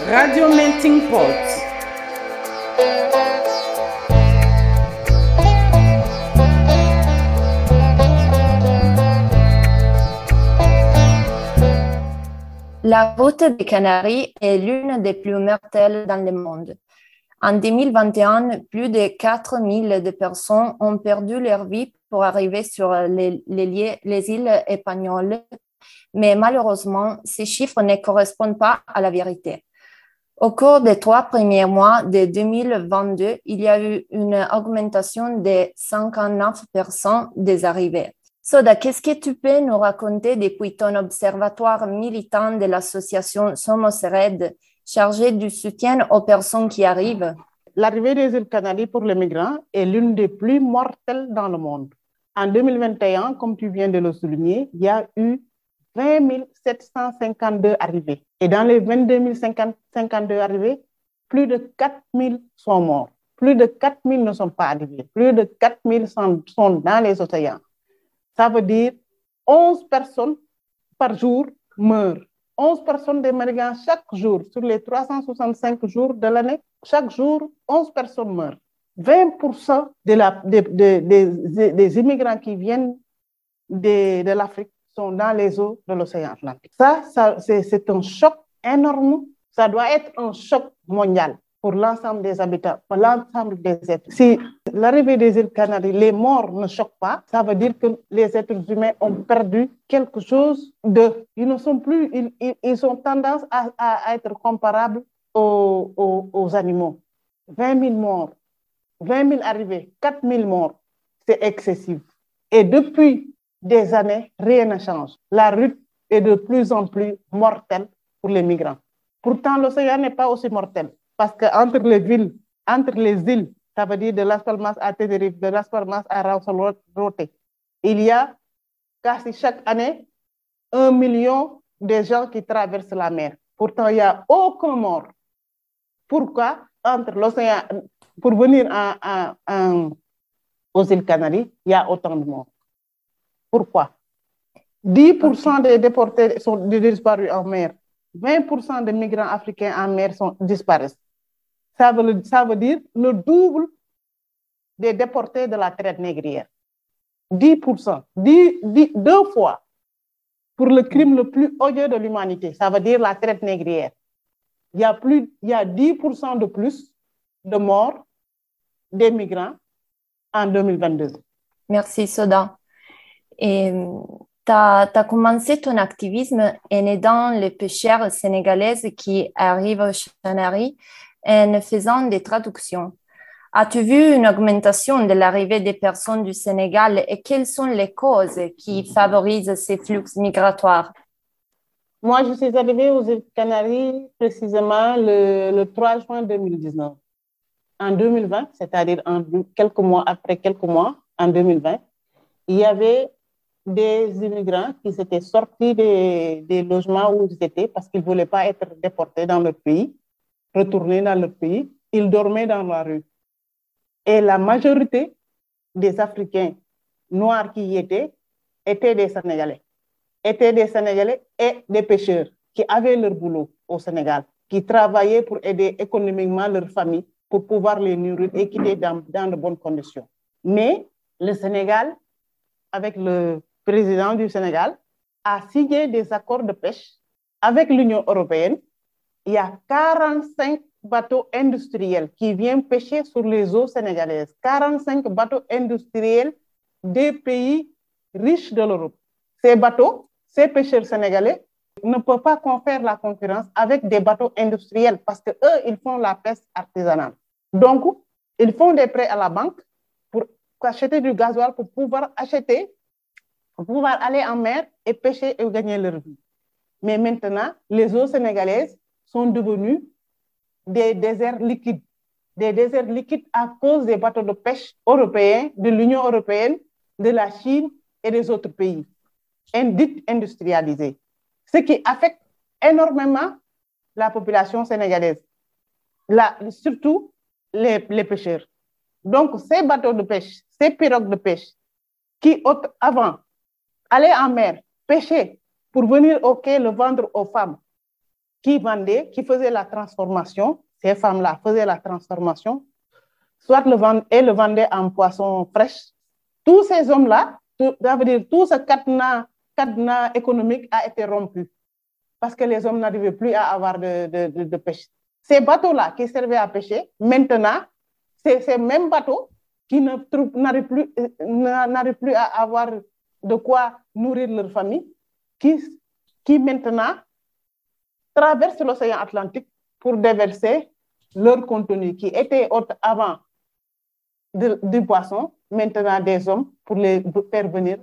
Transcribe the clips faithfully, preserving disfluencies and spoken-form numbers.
Radio Melting Pot. La route des Canaries est l'une des plus mortelles dans le monde. En deux mille vingt et un, plus de quatre mille de personnes ont perdu leur vie pour arriver sur les, les, les îles espagnoles, mais malheureusement, ces chiffres ne correspondent pas à la vérité. Au cours des trois premiers mois de deux mille vingt-deux, il y a eu une augmentation de cinquante-neuf pour cent des arrivées. Soda, qu'est-ce que tu peux nous raconter depuis ton observatoire militant de l'association Somos Red, chargé du soutien aux personnes qui arrivent? L'arrivée des îles Canaries pour les migrants est l'une des plus mortelles dans le monde. En deux mille vingt et un, comme tu viens de le souligner, il y a eu vingt mille sept cent cinquante-deux arrivées. Et dans les vingt-deux mille cinquante-deux arrivées, plus de quatre mille sont morts. Plus de quatre mille ne sont pas arrivés. Plus de quatre mille sont, sont dans les océans. Ça veut dire onze personnes par jour meurent. onze personnes des migrants chaque jour, sur les trois cent soixante-cinq jours de l'année, chaque jour, onze personnes meurent. vingt pour cent de la, de, de, de, des immigrants qui viennent de, de l'Afrique sont dans les eaux de l'océan Atlantique. Ça, ça c'est un choc énorme. Ça doit être un choc mondial pour l'ensemble des habitants, pour l'ensemble des êtres. Si l'arrivée des îles Canaries, les morts ne choquent pas, ça veut dire que les êtres humains ont perdu quelque chose de... Ils ne sont plus... Ils, ils, ils ont tendance à, à être comparables aux, aux, aux animaux. vingt mille morts, vingt mille arrivées, quatre mille morts, c'est excessif. Et depuis des années, rien ne change. La route est de plus en plus mortelle pour les migrants. Pourtant, l'océan n'est pas aussi mortel. Parce qu'entre les villes, entre les îles, ça veut dire de Las Palmas à Tenerife, de Las Palmas à Lanzarote, il y a quasi chaque année un million de gens qui traversent la mer. Pourtant, il n'y a aucun mort. Pourquoi entre l'océan, pour venir en, en, en, aux îles Canaries, il y a autant de morts? Pourquoi? dix pour cent des déportés sont disparus en mer. vingt pour cent des migrants africains en mer sont, disparaissent. Ça veut, ça veut dire le double des déportés de la traite négrière. dix pour cent, dix, dix, deux fois pour le crime le plus odieux de l'humanité. Ça veut dire la traite négrière. Il y a, plus, il y a dix pour cent de plus de morts des migrants en deux mille vingt-deux. Merci, Soda. Et tu as commencé ton activisme en aidant les pêcheurs sénégalaises qui arrivent aux Canaries en faisant des traductions. As-tu vu une augmentation de l'arrivée des personnes du Sénégal et quelles sont les causes qui favorisent ces flux migratoires? Moi, je suis arrivée aux îles Canaries précisément le, le trois juin deux mille dix-neuf. En deux mille vingt, c'est-à-dire en, quelques mois après quelques mois, en deux mille vingt, il y avait des immigrants qui s'étaient sortis des, des logements où ils étaient parce qu'ils ne voulaient pas être déportés dans leur pays, retourner dans leur pays. Ils dormaient dans la rue. Et la majorité des Africains noirs qui y étaient étaient des Sénégalais. Étaient des Sénégalais et des pêcheurs qui avaient leur boulot au Sénégal, qui travaillaient pour aider économiquement leur famille pour pouvoir les nourrir et qui étaient dans, dans de bonnes conditions. Mais le Sénégal, avec le président du Sénégal, a signé des accords de pêche avec l'Union européenne. Il y a quarante-cinq bateaux industriels qui viennent pêcher sur les eaux sénégalaises. quarante-cinq bateaux industriels des pays riches de l'Europe. Ces bateaux, ces pêcheurs sénégalais ne peuvent pas faire la concurrence avec des bateaux industriels parce qu'eux, ils font la pêche artisanale. Donc, ils font des prêts à la banque pour acheter du gasoil pour pouvoir acheter, pour pouvoir aller en mer et pêcher et gagner leur vie. Mais maintenant, les eaux sénégalaises sont devenues des déserts liquides. Des déserts liquides à cause des bateaux de pêche européens, de l'Union européenne, de la Chine et des autres pays dits industrialisés. Ce qui affecte énormément la population sénégalaise, la, surtout les, les pêcheurs. Donc, ces bateaux de pêche, ces pirogues de pêche qui, avant, allaient en mer, pêcher pour venir au quai le vendre aux femmes, qui vendaient, qui faisaient la transformation, ces femmes-là faisaient la transformation, soit le vend, et le vendaient en poisson fraîche. Tous ces hommes-là, tout, ça veut dire tout ce cadenas, cadenas économique a été rompu parce que les hommes n'arrivaient plus à avoir de, de, de, de pêche. Ces bateaux-là qui servaient à pêcher, maintenant, c'est ces mêmes bateaux qui n'arrivent plus, n'arrivent plus à avoir de quoi nourrir leur famille, qui, qui maintenant traversent l'océan Atlantique pour déverser leur contenu qui était avant de, du poisson, maintenant des hommes, pour les faire venir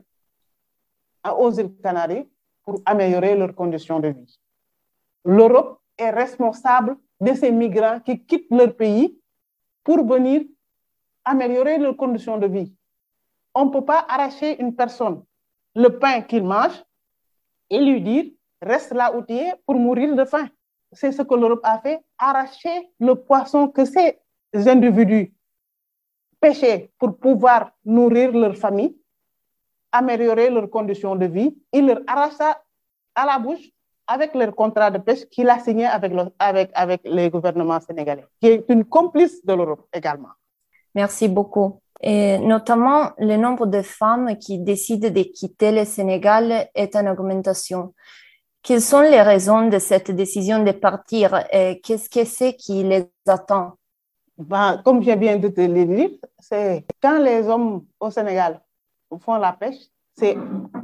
aux îles Canaries pour améliorer leurs conditions de vie. L'Europe est responsable de ces migrants qui quittent leur pays pour venir améliorer leurs conditions de vie. On ne peut pas arracher une personne le pain qu'il mange et lui dire reste là où tu es pour mourir de faim. C'est ce que l'Europe a fait, arracher le poisson que ces individus pêchaient pour pouvoir nourrir leur famille, améliorer leurs conditions de vie. Il leur arrache ça à la bouche avec leur contrat de pêche qu'il a signé avec, le, avec, avec les gouvernements sénégalais, qui est une complice de l'Europe également. Merci beaucoup. Et notamment, le nombre de femmes qui décident de quitter le Sénégal est en augmentation. Quelles sont les raisons de cette décision de partir et qu'est-ce que c'est qui les attend? Ben, comme je viens de te le dire, c'est quand les hommes au Sénégal font la pêche, c'est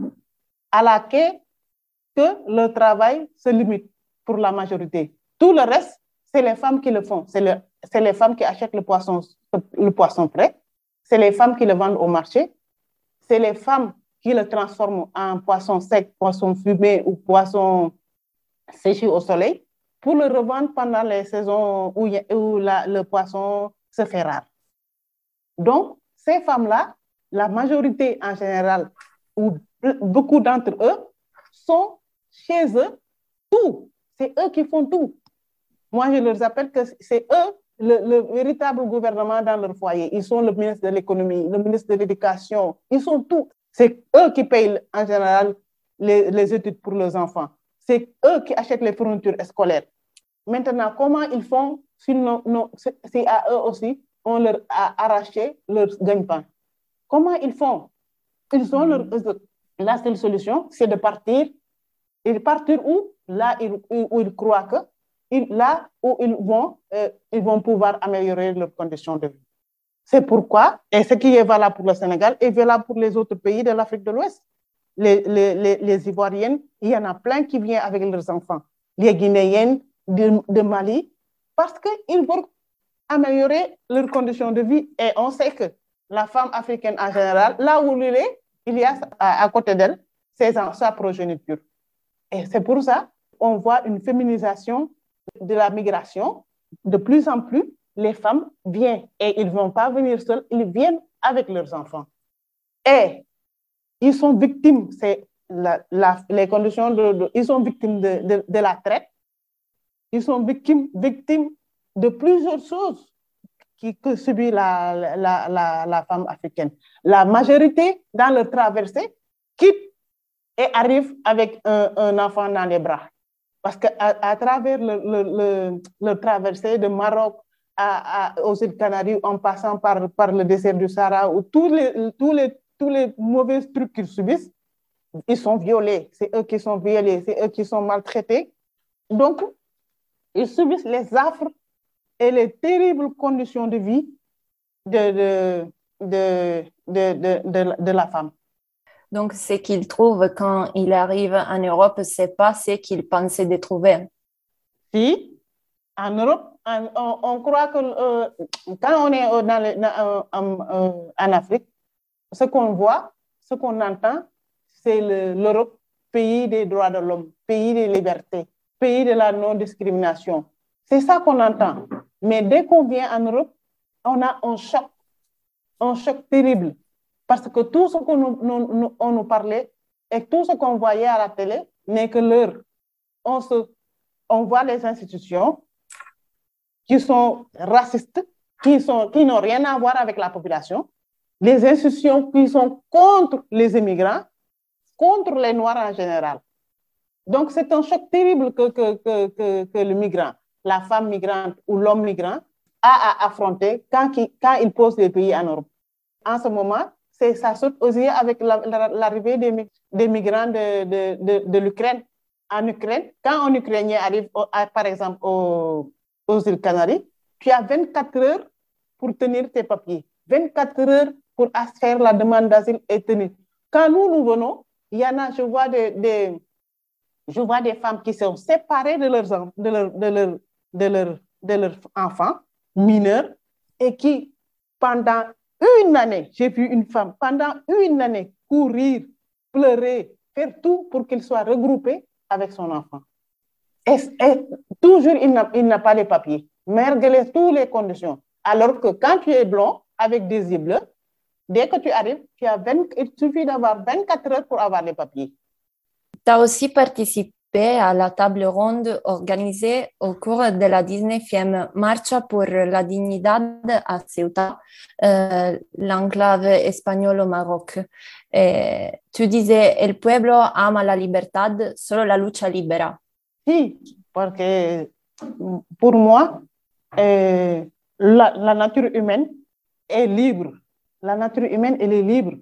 à la quai que le travail se limite pour la majorité. Tout le reste, c'est les femmes qui le font. C'est le, c'est les femmes qui achètent le poisson, le poisson frais. C'est les femmes qui le vendent au marché. C'est les femmes qui le transforment en poisson sec, poisson fumé ou poisson séché au soleil pour le revendre pendant les saisons où, y a, où la, le poisson se fait rare. Donc, ces femmes-là, la majorité en général, ou beaucoup d'entre eux, sont chez eux tout. C'est eux qui font tout. Moi, je leur appelle que c'est eux le, le véritable gouvernement dans leur foyer. Ils sont le ministre de l'économie, le ministre de l'éducation. Ils sont tout. C'est eux qui payent en général les, les études pour leurs enfants. C'est eux qui achètent les fournitures scolaires. Maintenant, comment ils font si, non, non, si à eux aussi, on leur a arraché leur gagne-pain? Comment ils font? Ils ont leur, la seule solution, c'est de partir. Et partir où? Là ils, où ils croient que, là où ils vont, euh, ils vont pouvoir améliorer leurs conditions de vie. C'est pourquoi, et ce qui est valable pour le Sénégal est valable pour les autres pays de l'Afrique de l'Ouest. Les, les, les, les Ivoiriennes, il y en a plein qui viennent avec leurs enfants. Les Guinéennes de, de Mali, parce qu'ils veulent améliorer leurs conditions de vie. Et on sait que la femme africaine en général, là où elle est, il y a à, à côté d'elle sa progéniture. Et c'est pour ça qu'on voit une féminisation de la migration. De plus en plus, les femmes viennent et ils ne vont pas venir seuls, ils viennent avec leurs enfants. Et ils sont victimes, c'est la, la, les conditions, de, de, ils sont victimes de, de, de la traite, ils sont victimes, victimes de plusieurs choses qui, que subit la, la, la, la femme africaine. La majorité, dans leur traversée, quitte et arrive avec un, un enfant dans les bras. Parce qu'à à travers le, le, le, le traversée de Maroc à, à, aux îles Canaries, en passant par, par le désert du Sahara, où tous les, tous les, tous les mauvais trucs qu'ils subissent, ils sont violés. C'est eux qui sont violés, c'est eux qui sont maltraités. Donc, ils subissent les affres et les terribles conditions de vie de, de, de, de, de, de, de la femme. Donc, ce qu'ils trouvent quand ils arrivent en Europe, ce n'est pas ce qu'ils pensaient de trouver. Si, en Europe, on, on, on croit que euh, quand on est dans le, dans, en, en Afrique, ce qu'on voit, ce qu'on entend, c'est l'Europe, pays des droits de l'homme, pays des libertés, pays de la non-discrimination. C'est ça qu'on entend. Mais dès qu'on vient en Europe, on a un choc, un choc terrible. Parce que tout ce qu'on nous, nous, on nous parlait et tout ce qu'on voyait à la télé n'est que l'heure. On, se, on voit les institutions qui sont racistes, qui, sont, qui n'ont rien à voir avec la population, les institutions qui sont contre les immigrants, contre les Noirs en général. Donc, c'est un choc terrible que, que, que, que, que le migrant, la femme migrante ou l'homme migrant a à affronter quand il, quand il pose les pays en Europe. En ce moment, c'est, ça saute aux yeux avec la, la, l'arrivée des, des migrants de, de, de, de l'Ukraine. En Ukraine, quand un Ukrainien arrive, au, à, par exemple, au, aux îles Canaries, tu as vingt-quatre heures pour tenir tes papiers. vingt-quatre heures pour faire la demande d'asile et tenir. Quand nous, nous venons, il y en a, je vois des, des, je vois des femmes qui sont séparées de leurs, de leur, de leur, de leur, de leurs enfants mineurs et qui, pendant une année, j'ai vu une femme, pendant une année, courir, pleurer, faire tout pour qu'il soit regroupé avec son enfant. Et, et toujours, il n'a, il n'a pas les papiers, malgré toutes les conditions. Alors que quand tu es blond, avec des yeux bleus, dès que tu arrives, tu as vingt, il suffit d'avoir vingt-quatre heures pour avoir les papiers. Tu as aussi participé à la table ronde organisée au cours de la dix-neuvième Marcha pour la Dignidad à Ceuta, euh, l'enclave espagnole au Maroc. Et tu disais, el pueblo ama la libertad, solo la lucha libera. Si, parce que pour moi, euh, la, la nature humaine est libre. La nature humaine, elle est libre.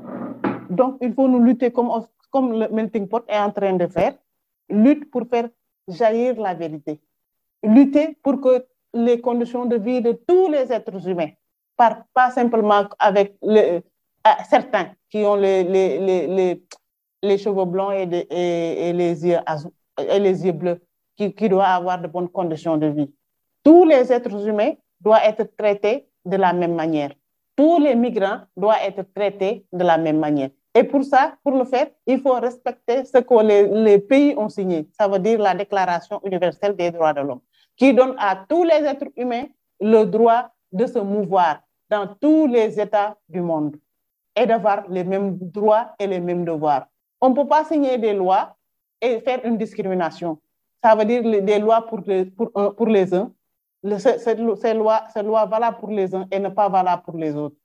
Donc, il faut nous lutter comme, comme le Melting Pot est en train de faire. Lutte pour faire jaillir la vérité. Lutter pour que les conditions de vie de tous les êtres humains, par, pas simplement avec le, certains qui ont les, les, les, les, les cheveux blancs et, de, et, et, les yeux azou, et les yeux bleus, qui, qui doivent avoir de bonnes conditions de vie. Tous les êtres humains doivent être traités de la même manière. Tous les migrants doivent être traités de la même manière. Et pour ça, pour le faire, il faut respecter ce que les, les pays ont signé. Ça veut dire la Déclaration universelle des droits de l'homme, qui donne à tous les êtres humains le droit de se mouvoir dans tous les États du monde et d'avoir les mêmes droits et les mêmes devoirs. On ne peut pas signer des lois et faire une discrimination. Ça veut dire des lois pour les, pour, pour les uns, ces, ces lois, ces lois valables pour les uns et ne pas valables pour les autres.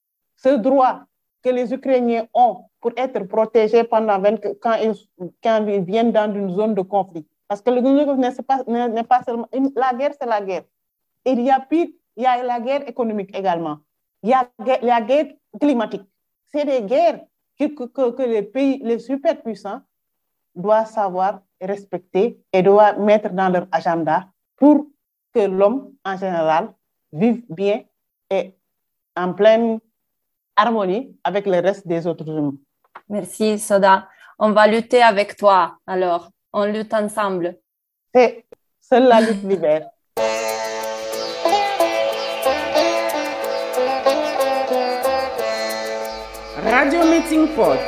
Ce droit que les Ukrainiens ont pour être protégés pendant vingt, quand, ils, quand ils viennent dans une zone de conflit. Parce que le n'est pas, n'est pas seulement... La guerre, c'est la guerre. Et il y a pire, il y a la guerre économique également. Il y a la guerre climatique. C'est des guerres que, que, que les pays, les superpuissants, doivent savoir respecter et doivent mettre dans leur agenda pour que l'homme, en général, vive bien et en pleine harmonie avec le reste des autres humains. Merci, Soda. On va lutter avec toi, alors. On lutte ensemble. C'est seule la lutte libère. Radio Melting Pot.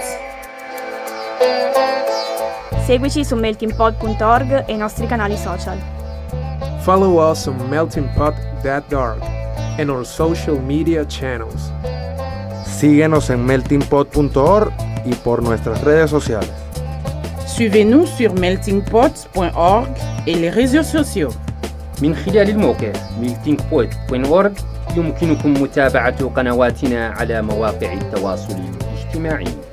Seguici su melting pot punto org e i nostri canali social. Follow us on melting pot dot org and our social media channels. Síguenos en melting pot punto org y por nuestras redes sociales. Suivez-nous sur melting pot point org et les réseaux sociaux. من خلال الموقع melting pot point org يمكنكم متابعة قنواتنا على مواقع التواصل الاجتماعي.